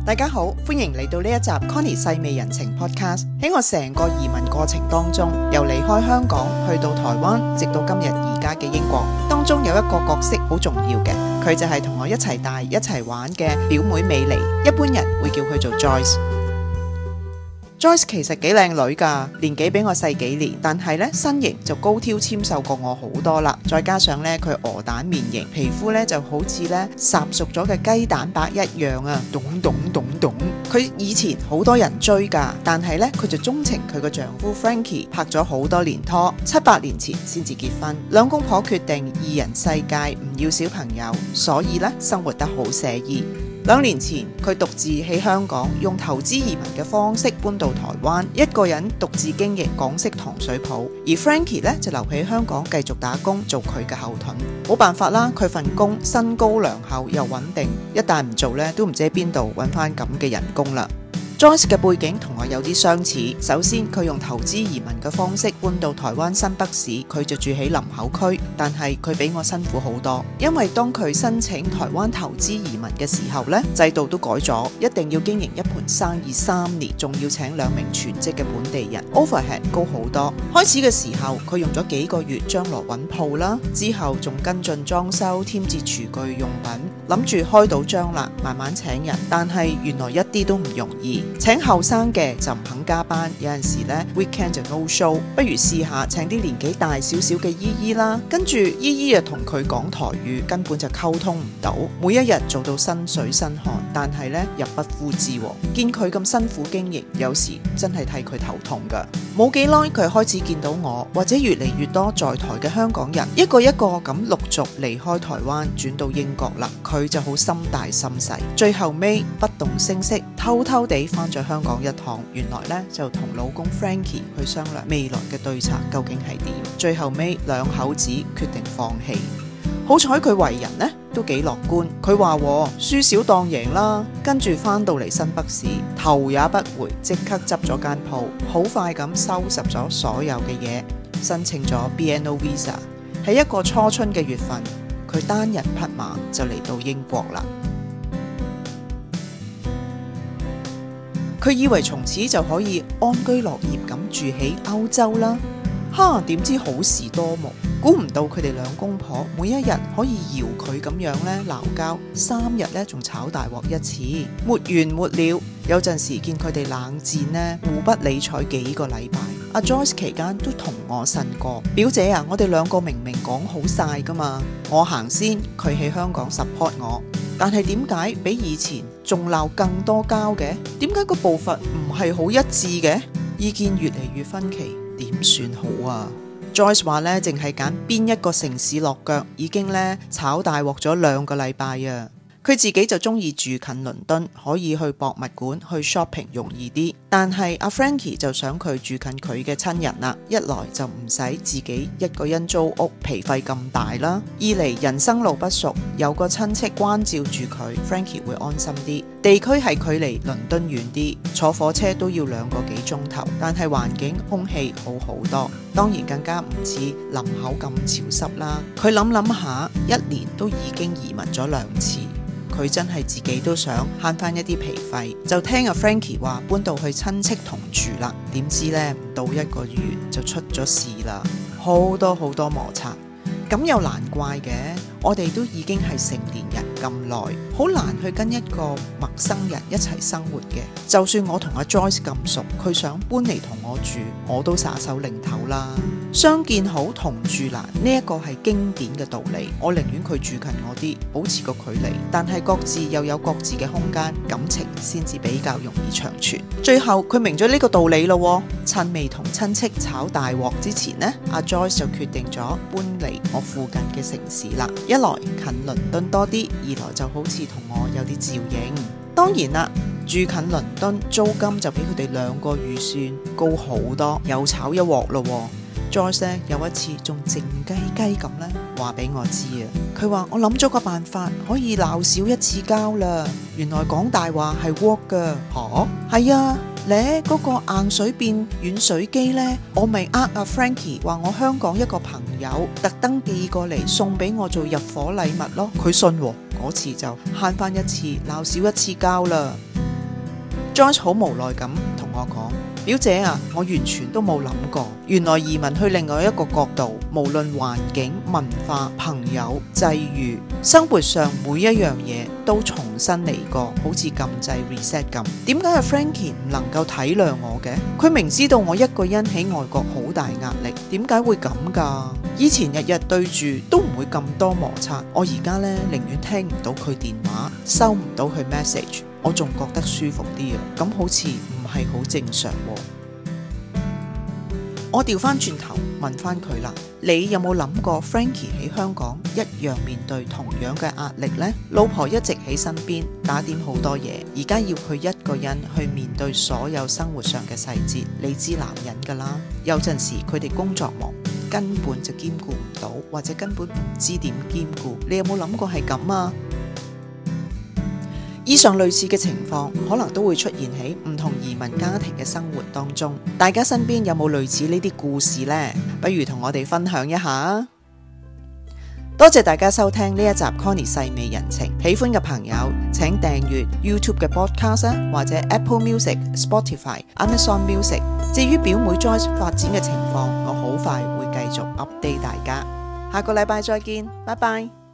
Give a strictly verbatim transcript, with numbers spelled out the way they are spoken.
大家好，歡迎嚟到呢一集 Connie 細味人情 Podcast。喺我成個移民過程當中，由離開香港去到台灣，直到今日而家嘅英國，當中有一個角色好重要嘅，佢就係同我一齊大一齊玩嘅表妹美妮，一般人會叫佢做 Joyce。Joyce 其實幾靚女㗎，年紀比我細幾年，但係咧身形就高挑纖瘦過我好多啦。再加上咧佢鵝蛋面型，皮膚咧就好似咧烚熟咗嘅雞蛋白一樣啊，咚咚咚咚。佢以前好多人追㗎，但係咧佢就鍾情佢個丈夫 Frankie， 拍咗好多年拖，七八年前先至結婚。兩公婆決定二人世界，唔要小朋友，所以咧生活得好寫意。兩年前，佢獨自喺香港用投資移民嘅方式搬到台灣，一個人獨自經營港式糖水鋪，而 Frankie 咧就留喺香港繼續打工做佢嘅後盾。冇辦法啦，佢份工薪高糧厚又穩定，一旦唔做咧都唔知喺邊度揾翻咁嘅人工啦。Joyce 嘅背景同我有啲相似，首先佢用投資移民嘅方式搬到台灣新北市，佢就住喺林口區，但係佢比我辛苦好多，因為當佢申請台灣投資移民嘅時候呢，制度都改咗，一定要經營一盤生意三年，仲要請兩名全職嘅本地人 ，overhead 高好多。開始嘅時候佢用咗幾個月將來揾鋪啦，之後仲跟進裝修，添置廚具用品，諗住開到張啦，慢慢請人，但係原來一啲都唔容易。請後生嘅就唔肯加班，有陣時咧 weekend 就 no show， 不如試下請啲年紀大少少嘅姨姨啦。跟住姨姨又同佢講台語，根本就溝通唔到，每一日做到身水身汗，但係咧入不敷支。見佢咁辛苦經營，有時真係替佢頭痛噶。冇幾耐佢開始見到我，或者越嚟越多在台嘅香港人，一個一個咁陸續離開台灣轉到英國啦，佢就好心大心細，最後尾不動聲色，偷偷地翻咗香港一趟，原來咧就同老公 Frankie 去商量未來嘅對策究竟係點，最後尾兩口子決定放棄。好彩佢為人呢都幾樂觀，佢話輸少當贏啦，跟住翻到嚟新北市，頭也不回，即刻執咗間鋪，好快咁收拾咗所有嘅嘢，申請咗 B N O Visa， 喺一個初春嘅月份，佢單人匹馬就嚟到英國啦。佢以為從此就可以安居樂業咁住喺歐洲啦，哈！點知好事多磨，估唔到佢哋兩公婆每一日可以搖佢咁樣咧鬧交，三日咧仲炒大鑊一次，沒完沒了。有陣時見佢哋冷戰呢，互不理睬幾個禮拜。阿 Joyce 期間都同我呻過，表姐啊，我哋兩個明明講好晒噶嘛，我行先，佢喺香港 support 我。但係點解比以前仲鬧更多交嘅？點解個步伐唔係好一致嘅？意見越嚟越分歧，點算好啊？ Joyce 話咧，淨係揀邊一個城市落腳，已經咧炒大鑊咗兩個禮拜啊！佢自己就中意住近倫敦，可以去博物館、去 shopping 容易啲。但係阿 Frankie 就想佢住近佢嘅親人啦，一來就唔使自己一個人租屋，皮費咁大啦；二嚟人生路不熟，有個親戚關照住佢 ，Frankie 會安心啲。地區係距離倫敦遠啲，坐火車都要兩個幾鐘頭，但係環境空氣好好多，當然更加唔似林口咁潮濕啦。佢諗諗下，一年都已經移民咗兩次。佢真係自己都想慳翻一啲皮費，就聽阿 Frankie 話搬到去親戚同住啦。點知呢，唔到一個月就出咗事啦，好多好多摩擦。咁又難怪嘅，我哋都已經係成年人咁耐，好難去跟一個陌生人一齊生活嘅。就算我同阿 Joyce 咁熟，佢想搬嚟同我住，我都撒手擰頭啦。相見好同住難，呢一個係經典嘅道理。我寧願佢住近我啲，保持個距離，但係各自又有各自嘅空間，感情先至比較容易長存。最後佢明咗呢個道理咯，趁未同親戚炒大鑊之前呢，阿 Joyce 就決定咗搬嚟我附近嘅城市啦。一來近倫敦多啲，二來就好似同我有啲照應。當然啦，住近倫敦租金就比佢哋兩個預算高好多，又炒一鑊咯。Joyce 有一次仲靜雞雞咁咧話俾我知啊，佢話我諗咗個辦法可以鬧少一次交啦。原來講大話係 work 噶。吓？係啊，咧嗰個硬水變軟水機呢，我咪呃阿 Frankie 話我香港一個朋友特登寄過嚟送俾我做入伙禮物咯。佢信喎，嗰次就慳翻一次鬧少一次交啦。 Joyce 好無奈咁同我講，表姐啊，我完全都冇諗過，原來移民去另外一個角度，無論環境、文化、朋友、際遇，生活上每一樣嘢都重新嚟過，好似撳掣 reset 咁。點解阿 Frankie 唔能夠體諒我嘅？佢明知道我一個人喺外國好大壓力，點解會咁噶？以前日日對住都唔會咁多摩擦，我而家呢，寧願聽唔到佢電話，收唔到佢 message，我仲覺得舒服啲啊！咁好似唔係好正常喎。我調翻轉頭問翻佢啦，你有冇諗過 Frankie 喺香港一樣面對同樣嘅壓力呢？老婆一直喺身邊打點好多嘢，而家要佢一個人去面對所有生活上嘅細節，你知男人噶啦，有陣時佢哋工作忙，根本就兼顧唔到，或者根本唔知點兼顧。你有冇諗過係咁啊？以上類似嘅情況可能都會出現喺唔同移民家庭嘅生活當中，大家身邊有冇類似呢啲故事呢？不如同我哋分享一下。多謝大家收聽呢一集 Connie 細味人情，喜歡嘅朋友請訂閱 YouTube 嘅 Podcast 或者 Apple Music、Spotify、Amazon Music。至於表妹 Joyce 發展嘅情況，我好快會繼續 update 大家。下個禮拜再見，拜拜。